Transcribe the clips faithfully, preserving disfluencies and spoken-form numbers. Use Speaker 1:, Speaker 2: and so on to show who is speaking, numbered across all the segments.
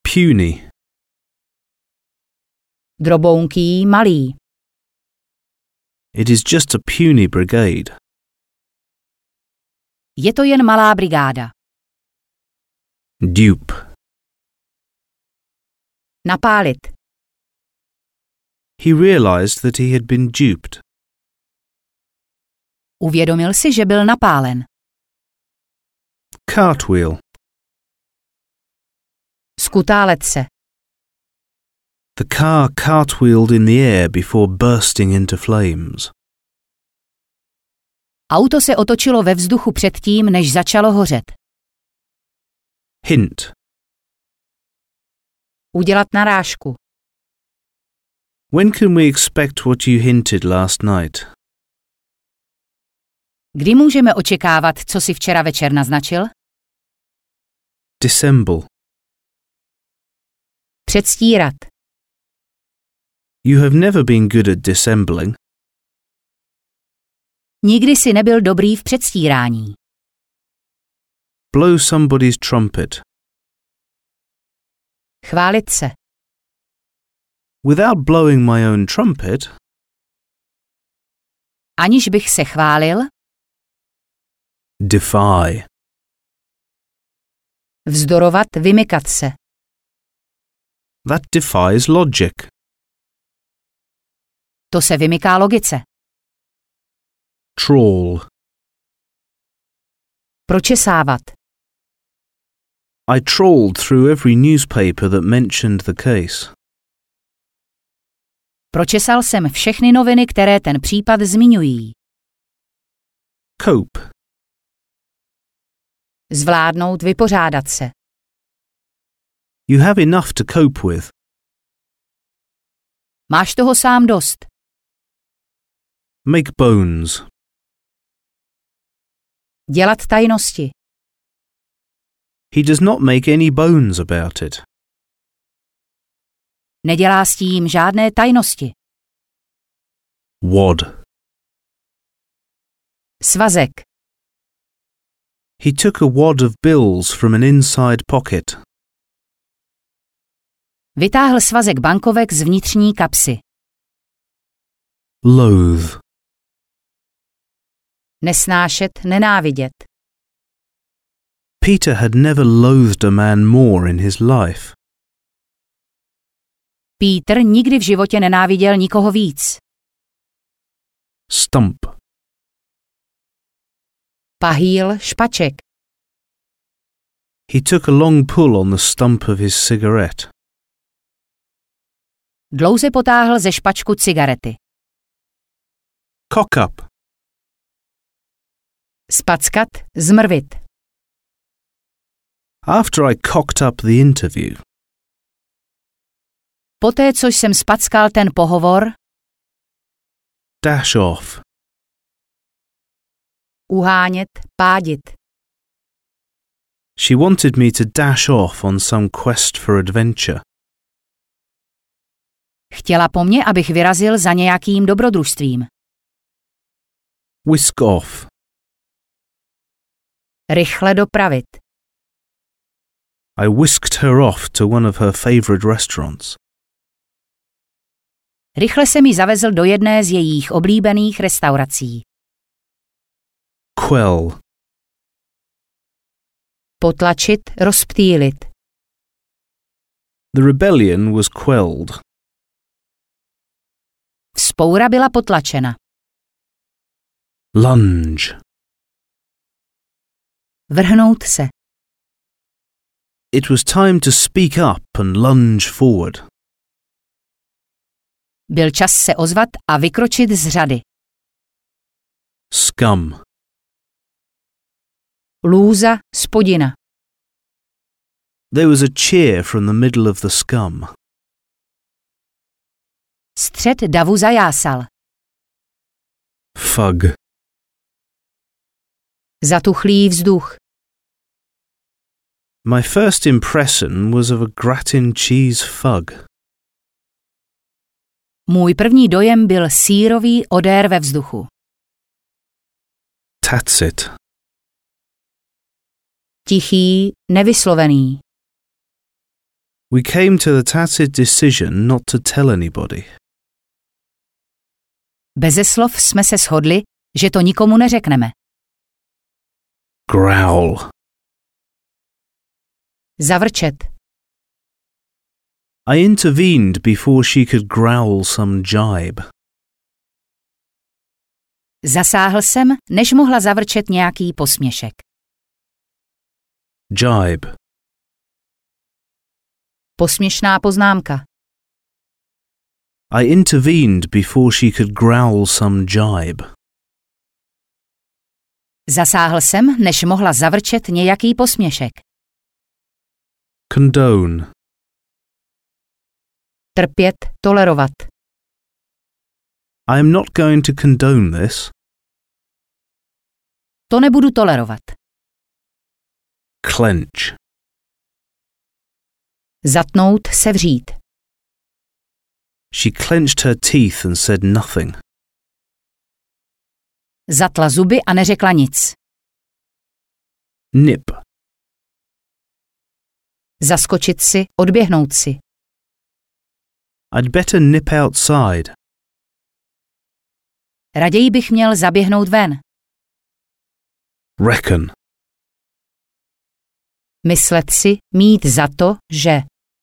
Speaker 1: Puny.
Speaker 2: Drobounký, malý.
Speaker 1: It is just a puny brigade.
Speaker 2: Je to jen malá brigáda.
Speaker 1: Dupe.
Speaker 2: Napálit.
Speaker 1: He realized that he had been duped.
Speaker 2: Uvědomil si, že byl napálen.
Speaker 1: Cartwheel.
Speaker 2: Skutálet se.
Speaker 1: The car cartwheeled in the air before bursting into flames.
Speaker 2: Auto se otočilo ve vzduchu předtím, než začalo hořet.
Speaker 1: Hint.
Speaker 2: Udělat narážku.
Speaker 1: When can we expect what you hinted last night?
Speaker 2: Kdy můžeme očekávat, co si včera večer naznačil?
Speaker 1: Dissemble.
Speaker 2: Předstírat.
Speaker 1: You have never been good at dissembling.
Speaker 2: Nikdy si nebyl dobrý v předstírání.
Speaker 1: Blow somebody's trumpet.
Speaker 2: Chválit se.
Speaker 1: Without blowing my own trumpet.
Speaker 2: Aniž bych se chválil.
Speaker 1: Defy.
Speaker 2: Vzdorovat, vymykat se.
Speaker 1: That defies logic.
Speaker 2: To se vymyká logice.
Speaker 1: Trawl.
Speaker 2: Pročesávat.
Speaker 1: I trawled through every newspaper that mentioned the case.
Speaker 2: Pročesal jsem všechny noviny, které ten případ zmiňují.
Speaker 1: Cope.
Speaker 2: Zvládnout, vypořádat se.
Speaker 1: You have enough to cope with.
Speaker 2: Máš toho sám dost.
Speaker 1: Make bones.
Speaker 2: Dělat tajnosti.
Speaker 1: He does not make any bones about it.
Speaker 2: Nedělá s tím žádné tajnosti.
Speaker 1: Wad.
Speaker 2: Svazek.
Speaker 1: He took a wad of bills from an inside pocket.
Speaker 2: Vytáhl svazek bankovek z vnitřní kapsy.
Speaker 1: Loathe.
Speaker 2: Nesnášet, nenávidět.
Speaker 1: Peter had never loathed a man more in his life.
Speaker 2: Peter nikdy v životě nenáviděl nikoho víc.
Speaker 1: Stump.
Speaker 2: Pahýl, špaček.
Speaker 1: He took a long pull on the stump of his cigarette.
Speaker 2: Dlouze potáhl ze špačku cigarety.
Speaker 1: Cock up.
Speaker 2: Spackat, zmrvit.
Speaker 1: After I cocked up the interview.
Speaker 2: Poté, co jsem spackal ten pohovor.
Speaker 1: Dash off.
Speaker 2: Uhánět, pádit.
Speaker 1: She wanted me to dash off on some quest for adventure.
Speaker 2: Chtěla po mně, abych vyrazil za nějakým dobrodružstvím.
Speaker 1: Whisk off.
Speaker 2: Rychle dopravit.
Speaker 1: I whisked her off to one of her favorite restaurants.
Speaker 2: Rychle se mi zavezl do jedné z jejich oblíbených restaurací.
Speaker 1: Quell.
Speaker 2: Potlačit, rozptýlit.
Speaker 1: The rebellion was quelled.
Speaker 2: Vzpoura byla potlačena.
Speaker 1: Lunge.
Speaker 2: Vrhnout se.
Speaker 1: It was time to speak up and lunge forward.
Speaker 2: Byl čas se ozvat a vykročit z řady.
Speaker 1: Scum.
Speaker 2: Lůza, spodina.
Speaker 1: There was a cheer from the middle of the scum.
Speaker 2: Střed davu zajásal.
Speaker 1: Fug.
Speaker 2: Zatuchlý vzduch.
Speaker 1: My first impression was of a gratin cheese fug.
Speaker 2: Můj první dojem byl sýrový odér ve vzduchu.
Speaker 1: Tacit.
Speaker 2: Tichý, nevyslovený.
Speaker 1: We came to the tacit decision not to tell anybody.
Speaker 2: Beze slov jsme se shodli, že to nikomu neřekneme.
Speaker 1: Growl.
Speaker 2: Zavrčet.
Speaker 1: I intervened before she could growl some jibe.
Speaker 2: Zasáhl jsem, než mohla zavrčet nějaký posměšek.
Speaker 1: Jibe.
Speaker 2: Posměšná poznámka.
Speaker 1: I intervened before she could growl some jibe.
Speaker 2: Zasáhl jsem, než mohla zavrčet nějaký posměšek.
Speaker 1: Condone.
Speaker 2: Trpět, tolerovat.
Speaker 1: I am not going to condone this.
Speaker 2: To nebudu tolerovat.
Speaker 1: Clench.
Speaker 2: Zatnout, sevřít.
Speaker 1: She clenched her teeth and said nothing.
Speaker 2: Zatla zuby a neřekla nic.
Speaker 1: Nip.
Speaker 2: Zaskočit si, odběhnout si.
Speaker 1: I'd better nip outside.
Speaker 2: Raději bych měl zaběhnout ven.
Speaker 1: Reckon.
Speaker 2: Myslet si, mít za to, že.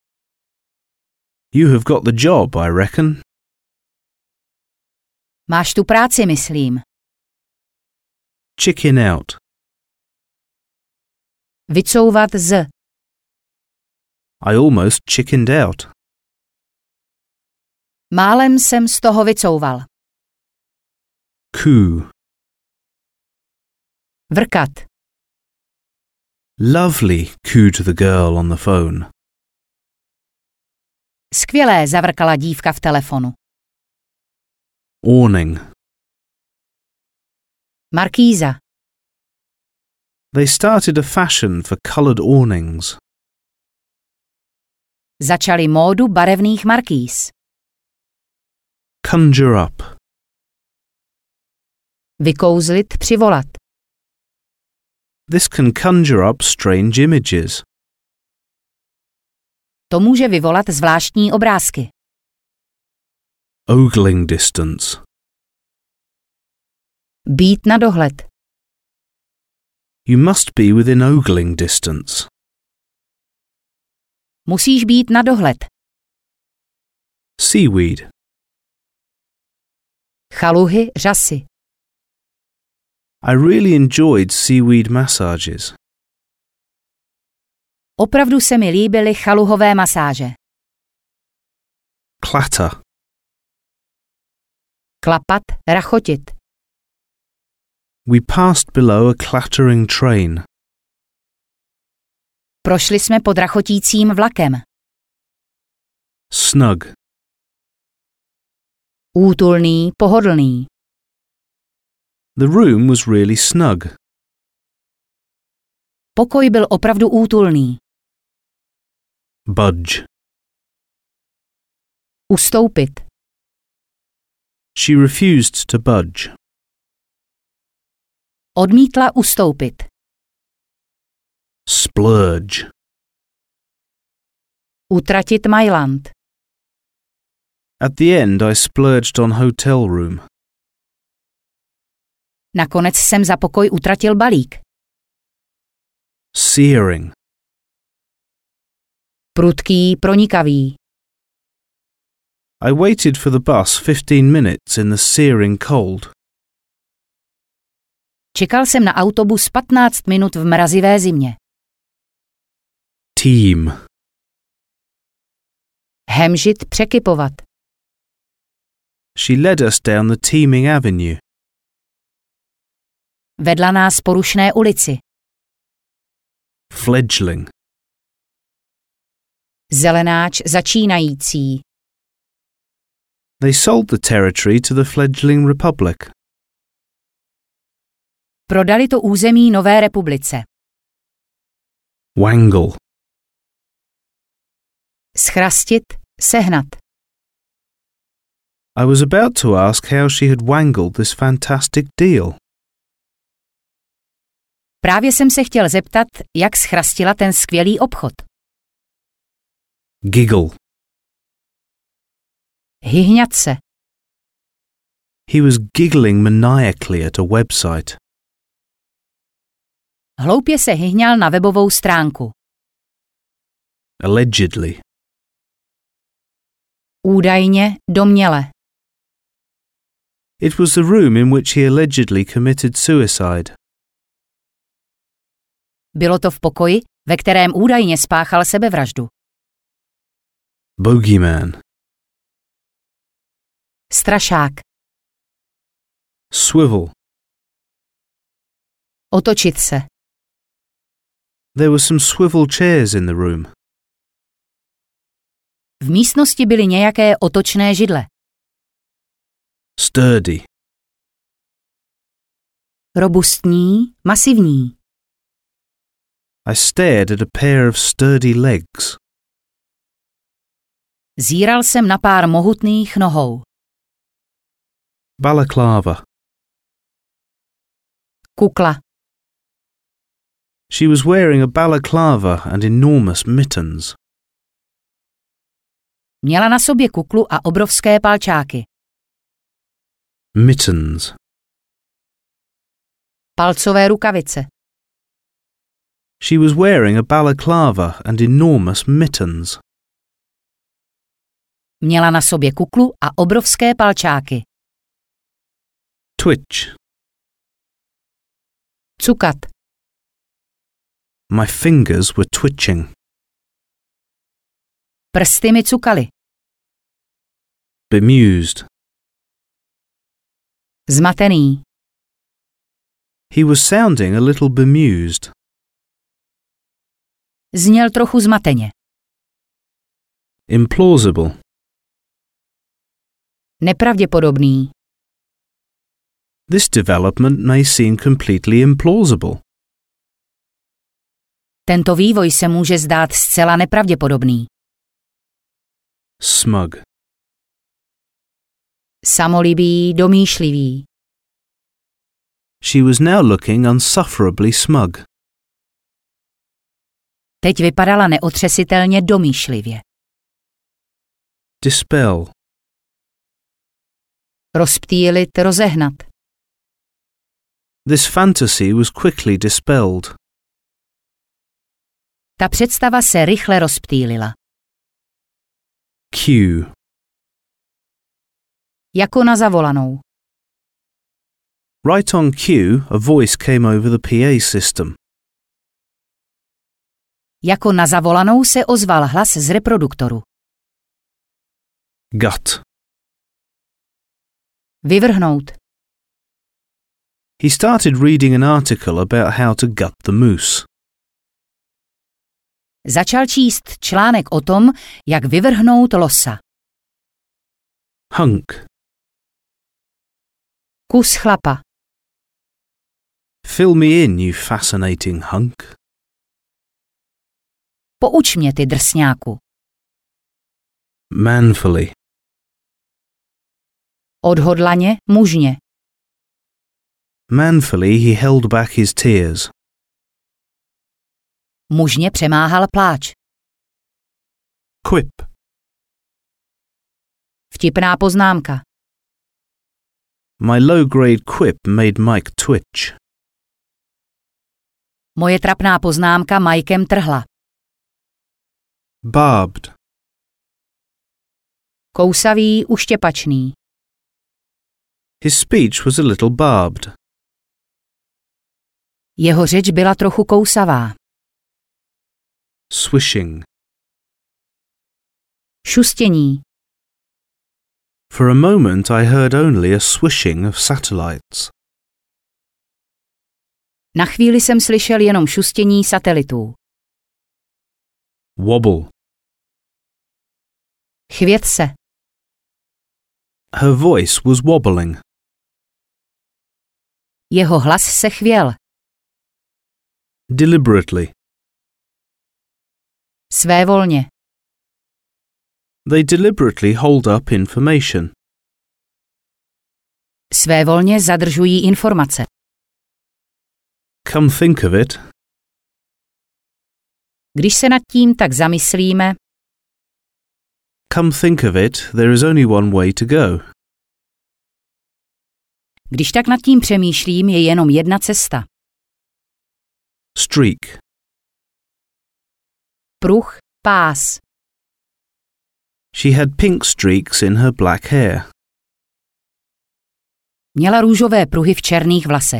Speaker 1: You have got the job, I reckon.
Speaker 2: Máš tu práci, myslím.
Speaker 1: Chicken out.
Speaker 2: Vycouvat z.
Speaker 1: I almost chickened out.
Speaker 2: Málem jsem z toho vycouval.
Speaker 1: Coo.
Speaker 2: Vrkat.
Speaker 1: Lovely, cooed the girl on the phone.
Speaker 2: Skvělé, zavrkala dívka v telefonu.
Speaker 1: Awning.
Speaker 2: Markýza.
Speaker 1: They started a fashion for coloured awnings.
Speaker 2: Začali módu barevných markýz.
Speaker 1: Conjure up.
Speaker 2: Vykouzlit, přivolat.
Speaker 1: This can conjure up strange images.
Speaker 2: To může vyvolat zvláštní obrázky.
Speaker 1: Ogling distance.
Speaker 2: Být na dohled.
Speaker 1: You must be within ogling distance.
Speaker 2: Musíš být na dohled.
Speaker 1: Seaweed.
Speaker 2: Chaluhy, řasy.
Speaker 1: I really enjoyed seaweed massages.
Speaker 2: Opravdu se mi líbily chaluhové masáže.
Speaker 1: Clatter.
Speaker 2: Klapat, rachotit.
Speaker 1: We passed below a clattering train.
Speaker 2: Prošli jsme pod rachotícím vlakem.
Speaker 1: Snug.
Speaker 2: Útulný, pohodlný.
Speaker 1: The room was really snug.
Speaker 2: Pokoj byl opravdu útulný.
Speaker 1: Budge.
Speaker 2: Ustoupit.
Speaker 1: She refused to budge.
Speaker 2: Odmítla ustoupit.
Speaker 1: Splurge.
Speaker 2: Utratit Mailand.
Speaker 1: At the end I splurged on hotel room.
Speaker 2: Nakonec jsem za pokoj utratil balík.
Speaker 1: Searing.
Speaker 2: Prudký, pronikavý.
Speaker 1: I waited for the bus fifteen minutes in the searing cold.
Speaker 2: Čekal jsem na autobus patnáct minut v mrazivé zimě.
Speaker 1: Team.
Speaker 2: Hemžit, překypovat.
Speaker 1: She led us down the teeming avenue.
Speaker 2: Vedla nás po rušné ulici.
Speaker 1: Fledgling.
Speaker 2: Zelenáč začínající.
Speaker 1: They sold the territory to the fledgling republic.
Speaker 2: Prodali to území nové republice.
Speaker 1: Wangle.
Speaker 2: Schrastit, sehnat.
Speaker 1: I was about to ask how she had wangled this fantastic deal.
Speaker 2: Právě jsem se chtěl zeptat, jak schrastila ten skvělý obchod.
Speaker 1: Giggle.
Speaker 2: Hyhňat se.
Speaker 1: He was giggling maniacally at a website.
Speaker 2: Hloupě se hyhňal na webovou stránku.
Speaker 1: Allegedly.
Speaker 2: Údajně, domněle.
Speaker 1: It was the room in which he allegedly committed suicide.
Speaker 2: Bylo to v pokoji, ve kterém údajně spáchal sebevraždu.
Speaker 1: Bogeyman.
Speaker 2: Strašák.
Speaker 1: Swivel.
Speaker 2: Otočit se.
Speaker 1: There were some swivel chairs in the room.
Speaker 2: V místnosti byly nějaké otočné židle.
Speaker 1: Sturdy.
Speaker 2: Robustní, masivní.
Speaker 1: I stared at a pair of sturdy legs.
Speaker 2: Zíral jsem na pár mohutných nohou.
Speaker 1: Balaclava.
Speaker 2: Kukla.
Speaker 1: She was wearing a balaclava and enormous mittens.
Speaker 2: Měla na sobě kuklu a obrovské palčáky.
Speaker 1: Mittens.
Speaker 2: Palcové rukavice.
Speaker 1: She was wearing a balaclava and enormous mittens.
Speaker 2: Měla na sobě kuklu a obrovské palčáky.
Speaker 1: Twitch.
Speaker 2: Cukat.
Speaker 1: My fingers were twitching.
Speaker 2: Prsty mi cukaly.
Speaker 1: Bemused.
Speaker 2: Zmatený.
Speaker 1: He was sounding a little bemused.
Speaker 2: Zněl trochu zmateně.
Speaker 1: Implausible.
Speaker 2: Nepravděpodobný.
Speaker 1: This development may seem completely implausible.
Speaker 2: Tento vývoj se může zdát zcela nepravděpodobný.
Speaker 1: Smug.
Speaker 2: Samolibý, domýšlivý.
Speaker 1: She was now looking unsufferably smug.
Speaker 2: Teď vypadala neotřesitelně domýšlivě.
Speaker 1: Dispel.
Speaker 2: Rozptýlit, rozehnat.
Speaker 1: This fantasy was quickly dispelled.
Speaker 2: Ta představa se rychle rozptýlila.
Speaker 1: Cue.
Speaker 2: Jako na zavolanou.
Speaker 1: Right on cue, a voice came over the P A system.
Speaker 2: Jako na zavolanou se ozval hlas z reproduktoru.
Speaker 1: Gut.
Speaker 2: Vyvrhnout.
Speaker 1: He started reading an article about how to gut the moose.
Speaker 2: Začal číst článek o tom, jak vyvrhnout losa.
Speaker 1: Hunk.
Speaker 2: Kus chlapa.
Speaker 1: Fill me in, you fascinating hunk.
Speaker 2: Pouč mě, ty drsňáku.
Speaker 1: Manfully.
Speaker 2: Odhodlaně, mužně.
Speaker 1: Manfully he held back his tears.
Speaker 2: Mužně přemáhal pláč.
Speaker 1: Quip.
Speaker 2: Vtipná poznámka.
Speaker 1: My low-grade quip made Mike twitch.
Speaker 2: Moje trapná poznámka Mikem trhla.
Speaker 1: Barbed.
Speaker 2: Kousavý, uštěpačný.
Speaker 1: His speech was a little barbed.
Speaker 2: Jeho řeč byla trochu kousavá.
Speaker 1: Swishing.
Speaker 2: Šustění.
Speaker 1: For a moment I heard only a swishing of satellites.
Speaker 2: Na chvíli jsem slyšel jenom šustění satelitů.
Speaker 1: Wobble.
Speaker 2: Chvět se.
Speaker 1: Her voice was wobbling.
Speaker 2: Jeho hlas se chvěl.
Speaker 1: Deliberately.
Speaker 2: Svévolně.
Speaker 1: They deliberately hold up information.
Speaker 2: Svévolně zadržují informace.
Speaker 1: Come think of it.
Speaker 2: Když se nad tím tak zamyslíme,
Speaker 1: come think of it, there is only one way to go.
Speaker 2: Když tak nad tím přemýšlím, je jenom jedna cesta.
Speaker 1: Streak.
Speaker 2: Pruh, pás.
Speaker 1: She had pink streaks in her black hair.
Speaker 2: Měla růžové pruhy v černých vlasech.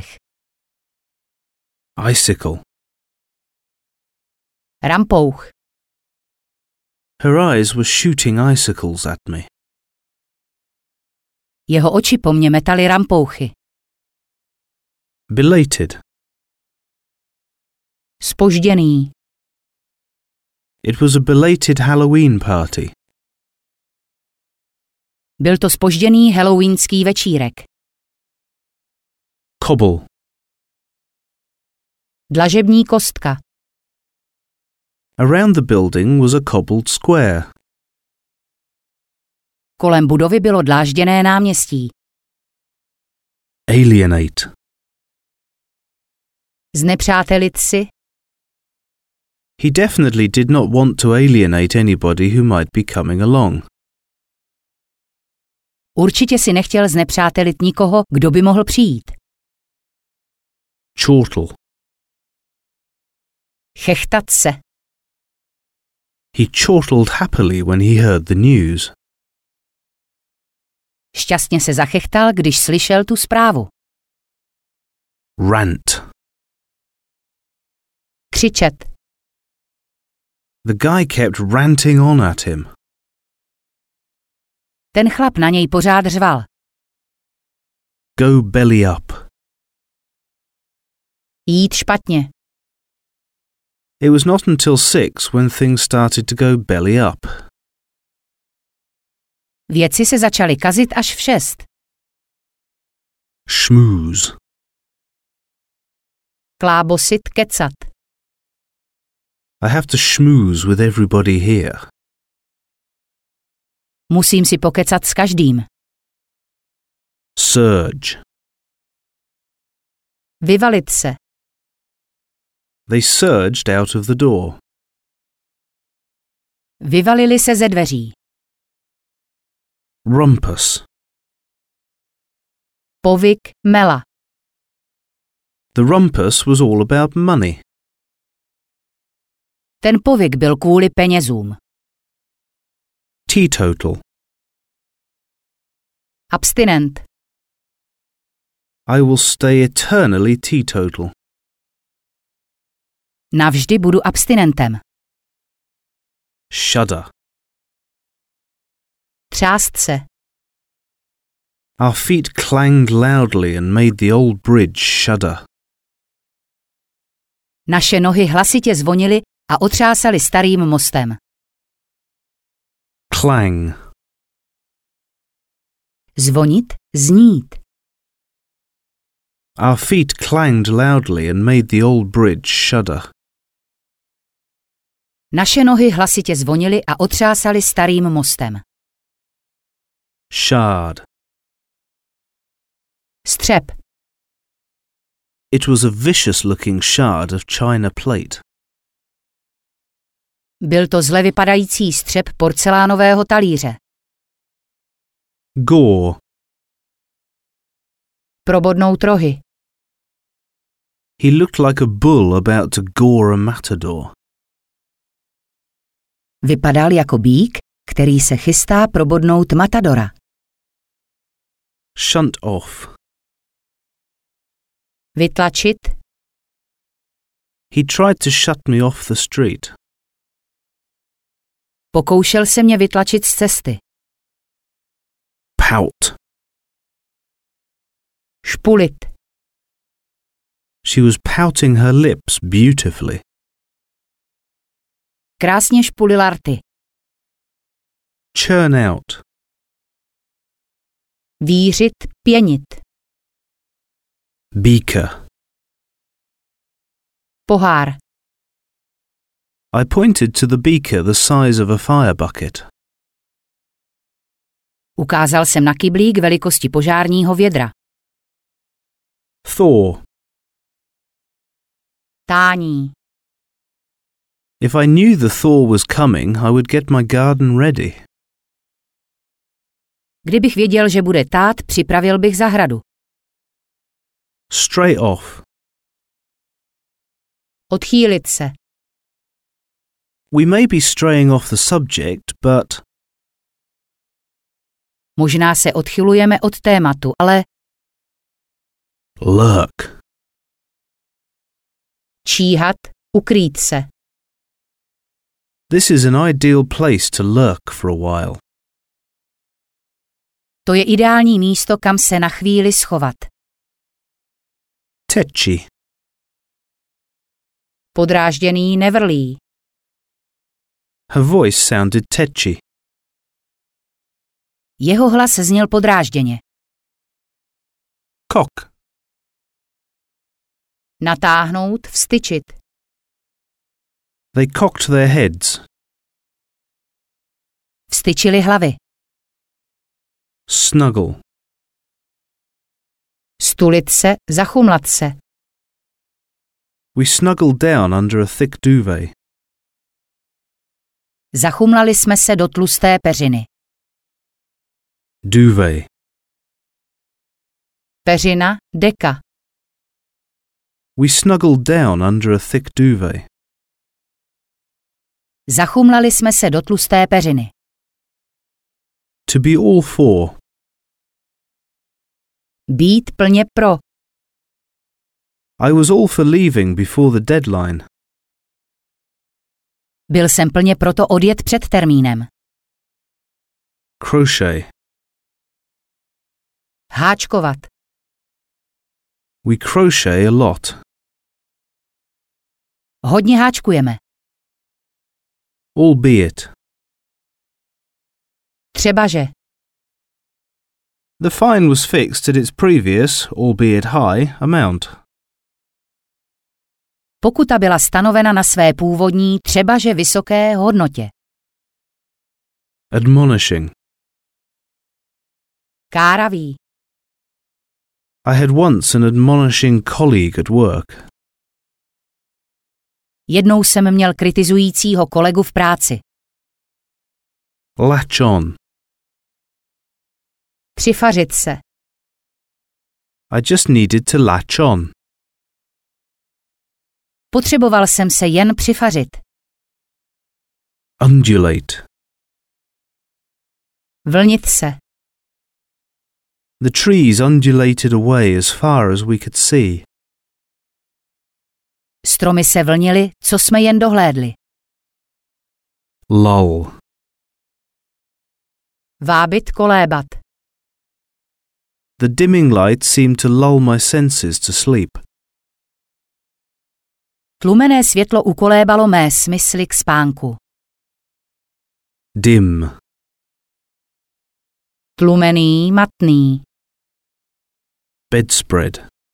Speaker 1: Icicle.
Speaker 2: Rampouch.
Speaker 1: Her eyes were shooting icicles at me.
Speaker 2: Jeho oči po mně metaly rampouchy.
Speaker 1: Belated.
Speaker 2: Zpožděný.
Speaker 1: It was a belated Halloween party.
Speaker 2: Byl to zpožděný halloweenský večírek.
Speaker 1: Cobble.
Speaker 2: Dlažební kostka.
Speaker 1: Around the building was a cobbled square.
Speaker 2: Kolem budovy bylo dlážděné náměstí.
Speaker 1: Alienate.
Speaker 2: Znepřátelit si.
Speaker 1: He definitely did not want to alienate anybody who might be coming along.
Speaker 2: Určitě si nechtěl znepřátelit nikoho, kdo by mohl přijít.
Speaker 1: Chortle.
Speaker 2: Chechtat se.
Speaker 1: He chortled happily when he heard the news.
Speaker 2: Šťastně se zachechtal, když slyšel tu zprávu.
Speaker 1: Rant.
Speaker 2: Křičet.
Speaker 1: The guy kept ranting on at him.
Speaker 2: Ten chlap na něj pořád řval.
Speaker 1: Go belly up.
Speaker 2: Jít špatně.
Speaker 1: It was not until six when things started to go belly up.
Speaker 2: Věci se začaly kazit až v šest.
Speaker 1: Schmooze.
Speaker 2: Klábosit, kecat.
Speaker 1: I have to schmooze with everybody here.
Speaker 2: Musím si pokecat s každým.
Speaker 1: Surge.
Speaker 2: Vyvalit se.
Speaker 1: They surged out of the door.
Speaker 2: Vyvalili se ze dveří.
Speaker 1: Rumpus.
Speaker 2: Povyk, mela.
Speaker 1: The rumpus was all about money.
Speaker 2: Ten povyk byl kvůli penězům.
Speaker 1: Teetotal.
Speaker 2: Abstinent.
Speaker 1: I will stay eternally teetotal.
Speaker 2: Navždy budu abstinentem.
Speaker 1: Shudder.
Speaker 2: Třást se.
Speaker 1: Our feet clanged loudly and made the old bridge shudder.
Speaker 2: Naše nohy hlasitě zvonily a otřásaly starým mostem.
Speaker 1: Clang.
Speaker 2: Zvonit, znít.
Speaker 1: Our feet clanged loudly and made the old bridge shudder.
Speaker 2: Naše nohy hlasitě zvonily a otřásaly starým mostem.
Speaker 1: Shard.
Speaker 2: Střep.
Speaker 1: It was a vicious-looking shard of china plate.
Speaker 2: Byl to zle vypadající střep porcelánového talíře.
Speaker 1: Gore.
Speaker 2: Probodnout rohy.
Speaker 1: He looked like a bull about to gore a matador.
Speaker 2: Vypadal jako býk, který se chystá probodnout matadora.
Speaker 1: Shunt off.
Speaker 2: Vytlačit.
Speaker 1: He tried to shut me off the street.
Speaker 2: Pokoušel se mě vytlačit z cesty.
Speaker 1: Pout.
Speaker 2: Špulit.
Speaker 1: She was pouting her lips beautifully.
Speaker 2: Krásně špulila rty.
Speaker 1: Churn out.
Speaker 2: Vířit, pěnit.
Speaker 1: Beaker.
Speaker 2: Pohár.
Speaker 1: I pointed to the beaker the size of a fire bucket.
Speaker 2: Ukázal jsem na kyblík velikosti požárního vědra.
Speaker 1: Thaw.
Speaker 2: Tání.
Speaker 1: If I knew the thaw was coming, I would get my garden ready.
Speaker 2: Kdybych věděl, že bude tát, připravil bych zahradu.
Speaker 1: Straight off.
Speaker 2: Odchýlit se.
Speaker 1: We may be straying off the subject, but...
Speaker 2: Možná se odchylujeme od tématu, ale
Speaker 1: Lurk.
Speaker 2: číhat, ukrýt se.
Speaker 1: This is an ideal place to lurk for a while.
Speaker 2: To je ideální místo, kam se na chvíli schovat.
Speaker 1: Tetchy.
Speaker 2: Podrážděný nevrlý.
Speaker 1: Her voice sounded tetchy.
Speaker 2: Jeho hlas zněl podrážděně.
Speaker 1: Cock.
Speaker 2: Natáhnout, vztyčit.
Speaker 1: They cocked their heads.
Speaker 2: Vztyčili hlavy.
Speaker 1: Snuggle.
Speaker 2: Stulit se, zachumlat se.
Speaker 1: We snuggled down under a thick duvet.
Speaker 2: Zachumlali jsme se do tlusté peřiny.
Speaker 1: Duvet.
Speaker 2: Peřina, deka.
Speaker 1: We snuggled down under a thick duvet.
Speaker 2: Zachumlali jsme se do tlusté peřiny.
Speaker 1: To be all for.
Speaker 2: Být plně pro.
Speaker 1: I was all for leaving before the deadline.
Speaker 2: Byl jsem plně proto odjet před termínem.
Speaker 1: Crochet.
Speaker 2: Háčkovat.
Speaker 1: We crochet a lot.
Speaker 2: Hodně háčkujeme.
Speaker 1: Albeit.
Speaker 2: Třebaže.
Speaker 1: The fine was fixed at its previous, albeit high, amount.
Speaker 2: Pokuta byla stanovena na své původní, třebaže vysoké hodnotě.
Speaker 1: Admonishing.
Speaker 2: Káravý.
Speaker 1: I had once an admonishing colleague at work.
Speaker 2: Jednou jsem měl kritizujícího kolegu v práci.
Speaker 1: Latch on.
Speaker 2: Přifařit se.
Speaker 1: I just needed to latch on.
Speaker 2: Potřeboval jsem se jen přifařit.
Speaker 1: Undulate.
Speaker 2: Vlnit se.
Speaker 1: The trees undulated away as far as we could see.
Speaker 2: Stromy se vlnily, co jsme jen dohlédli.
Speaker 1: Lull.
Speaker 2: Vábit, kolébat.
Speaker 1: The dimming light seemed to lull my senses to sleep.
Speaker 2: Tlumené světlo ukolébalo mé smysly k spánku.
Speaker 1: Dim.
Speaker 2: Tlumený, matný.
Speaker 1: Bedspread.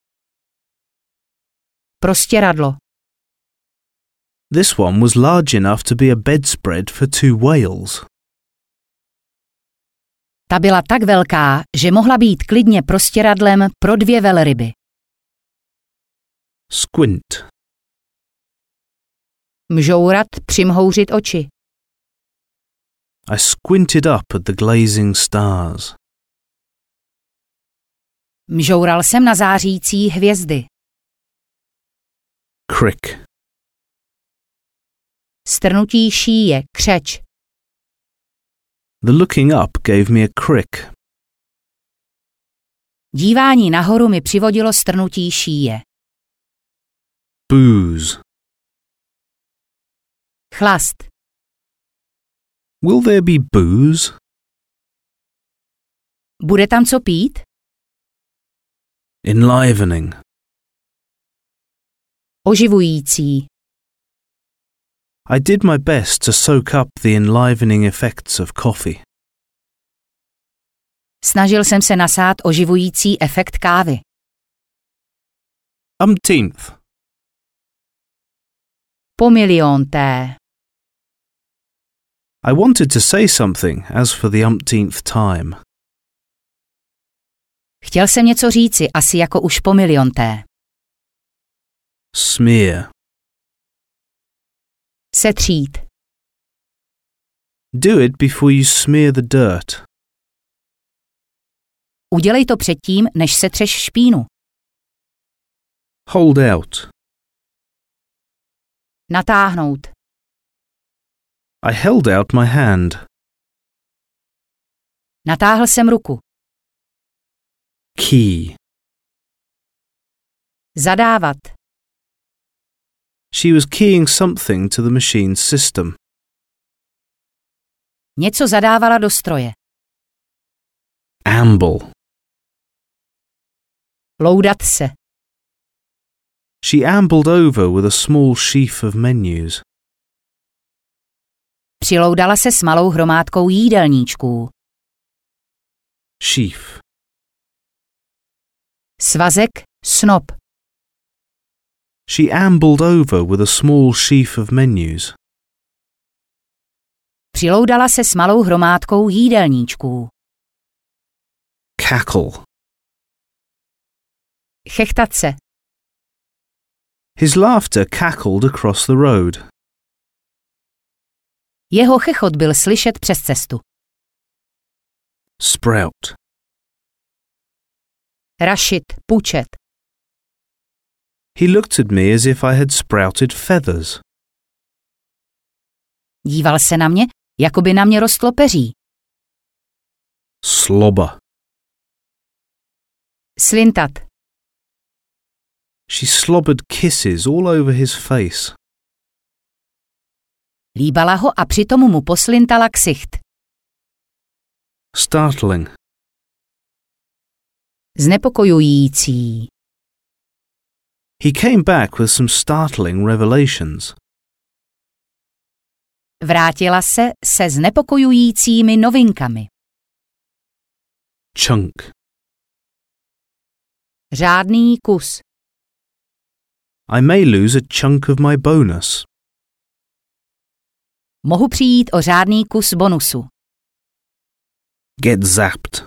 Speaker 2: Prostěradlo.
Speaker 1: This one was large enough to be a bedspread for two whales.
Speaker 2: Ta byla tak velká, že mohla být klidně prostěradlem pro dvě velryby.
Speaker 1: Squint.
Speaker 2: Mžourat, přimhouřit oči.
Speaker 1: I squinted up at the glazing stars.
Speaker 2: Mžoural jsem na zářící hvězdy.
Speaker 1: Crick.
Speaker 2: Strnutí šíje, křeč.
Speaker 1: The looking up gave me a crick.
Speaker 2: Dívání nahoru mi přivodilo strnutí šíje.
Speaker 1: Booze.
Speaker 2: Chlast.
Speaker 1: Will there be booze?
Speaker 2: Bude tam co pít?
Speaker 1: Enlivening.
Speaker 2: Oživující.
Speaker 1: I did my best to soak up the enlivening effects of coffee.
Speaker 2: Snažil jsem se nasát oživující efekt kávy.
Speaker 1: Umpteenth.
Speaker 2: Po milionté.
Speaker 1: I wanted to say something as for the umpteenth time.
Speaker 2: Chtěl jsem něco říci, asi jako už po milionté.
Speaker 1: Smear.
Speaker 2: Setřít.
Speaker 1: Do it before you smear the dirt.
Speaker 2: Udělej to předtím, než setřeš špínu.
Speaker 1: Hold out.
Speaker 2: Natáhnout.
Speaker 1: I held out my hand.
Speaker 2: Natáhl jsem ruku.
Speaker 1: Key.
Speaker 2: Zadávat.
Speaker 1: She was keying something to the machine's system.
Speaker 2: Něco zadávala do stroje.
Speaker 1: Amble.
Speaker 2: Loudat se.
Speaker 1: She ambled over with a small sheaf of menus.
Speaker 2: Přiloudala se s malou hromádkou jídelníčků.
Speaker 1: Sheaf.
Speaker 2: Svazek, snop.
Speaker 1: She ambled over with a small sheaf of menus.
Speaker 2: Přiloudala se s malou hromádkou jídelníčků.
Speaker 1: Cackle.
Speaker 2: Chechtat se.
Speaker 1: His laughter cackled across the road.
Speaker 2: Jeho chechot byl slyšet přes cestu.
Speaker 1: Sprout.
Speaker 2: Rašit, pučet.
Speaker 1: He looked at me as if I had sprouted feathers.
Speaker 2: Díval se na mě, jako by na mě rostlo peří.
Speaker 1: Slobber.
Speaker 2: Slintat.
Speaker 1: She slobbered kisses all over his face.
Speaker 2: Líbala ho a přitom mu poslintala ksicht.
Speaker 1: Startling.
Speaker 2: Znepokojující.
Speaker 1: He came back with some startling revelations.
Speaker 2: Vrátila se se znepokojujícími novinkami.
Speaker 1: Chunk.
Speaker 2: Řádný kus.
Speaker 1: I may lose a chunk of my bonus.
Speaker 2: Mohu přijít o řádný kus bonusu.
Speaker 1: Get zapped.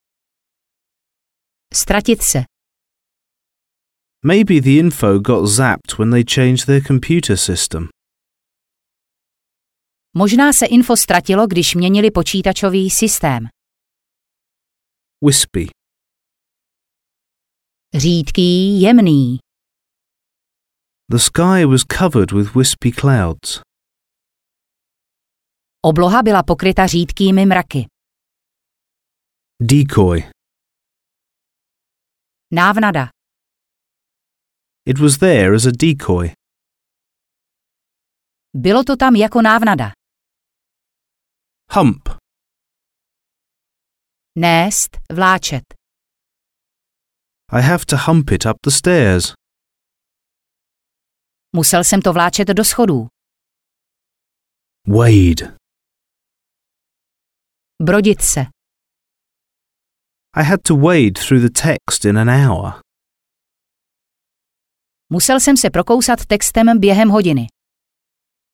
Speaker 2: Ztratit se.
Speaker 1: Maybe the info got zapped when they changed their computer system.
Speaker 2: Možná se info ztratilo, když měnili počítačový systém.
Speaker 1: Wispy.
Speaker 2: Řídký, jemný.
Speaker 1: The sky was covered with wispy clouds.
Speaker 2: Obloha byla pokryta řídkými mraky.
Speaker 1: Decoy.
Speaker 2: Návnada.
Speaker 1: It was there as a decoy.
Speaker 2: Bylo to tam jako návnada.
Speaker 1: Hump.
Speaker 2: Nést, vláčet.
Speaker 1: I have to hump it up the stairs.
Speaker 2: Musel jsem to vláčet do schodů.
Speaker 1: Wade.
Speaker 2: Brodit se.
Speaker 1: I had to wade through the text in an hour.
Speaker 2: Musel jsem se prokousat textem během hodiny.